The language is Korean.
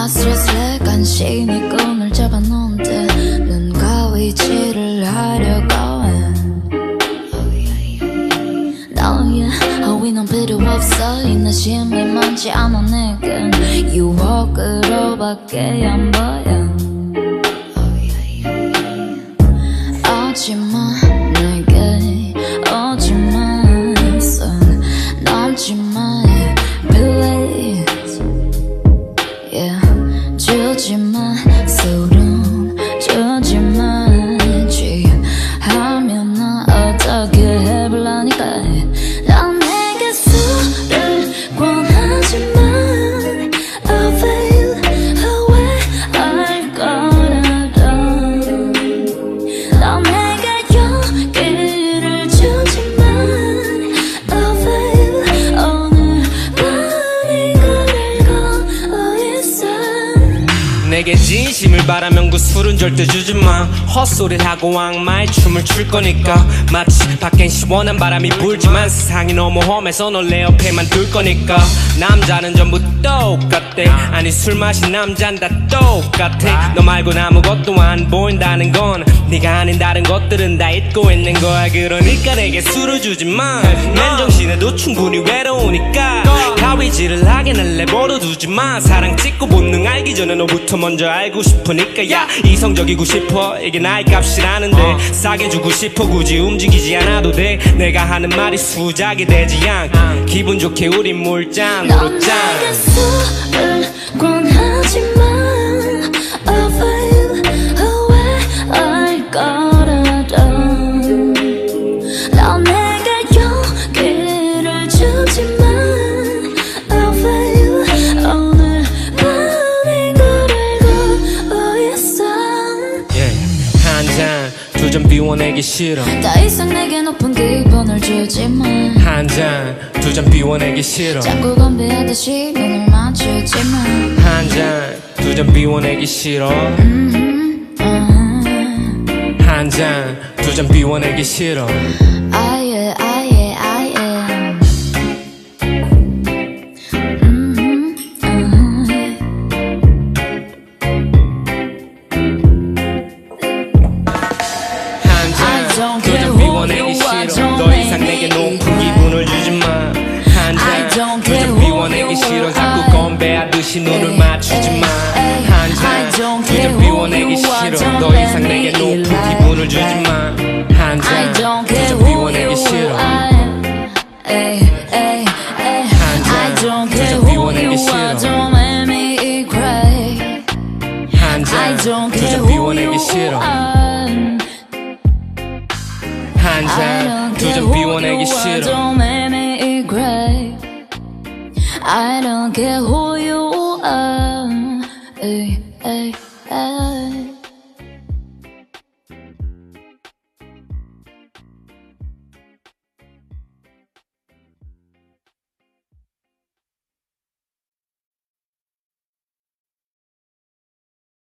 스트레스에 간신히 끈을 잡아놓은데 눈과 위치를 하려고 해 너의 허위는 필요 없어 인내심이 많지 않아 내겐 유혹으로밖에 안 보여 오지마 내게 오지마 손 넘지마 Please yeah. 주지마 소름 주지마 취하면 나 어떻게 해볼라니까 난 내게 술을 권하지만 Avail away 할 거라도 난 내게 용기를 주지만 Avail 오늘 밤이 그리고 있어 내게 진심을 바라면 그 술은 절대 주지마 헛소리를 하고 악마의 춤을 출 거니까 마치 밖엔 시원한 바람이 불지만 세상이 너무 험해서 널 내 옆에만 둘 거니까 남자는 전부 똑같대 아니 술 마신 남잔 다 똑같아 너 말곤 아무것도 안 보인다는 건 네가 아닌 다른 것들은 다 잊고 있는 거야 그러니까 내게 술을 주지마 맨정신에도 충분히 외로우니까 가위질을 하긴 내버려 두지마 사랑 찍고 본능 알기 전에 너부터 먼저 알고 싶으니까 야 이성적이고 싶어 이게 나의 값이라는데 싸게 주고 싶어 굳이 움직이지 않아도 돼 내가 하는 말이 수작이 되지 않 기분 좋게 우린 물장으로 짠 넌 내게 술을 권하지만 Avail away 할 거라도 넌 내게 용기를 주지만 Avail 오늘 밤이 그리고 있어 한잔 두 잔 비워내기 싫어 더 이상 내게 높은 기분을 주지만 한잔 두 잔 비워내기 싫어 자꾸 건배하듯이 눈을 맞추지만 한잔 두 잔 비워내기 싫어 한잔 두 잔 비워내기 싫어 아예 아예 아예 한잔 두 잔 비워내기 싫어 더 이상 내게 높은 기분을 주지마 한잔 두 잔 비워내기 싫어 자꾸 건배하듯이 눈을 맞추지마 한잔 두 잔 비워내기 싫어 더 이상 내게 높은 기분을 주지마 한잔 두 잔 비워내기 싫어 한잔 두 잔 비워내기 싫어 한잔 두 잔 비워내기 싫어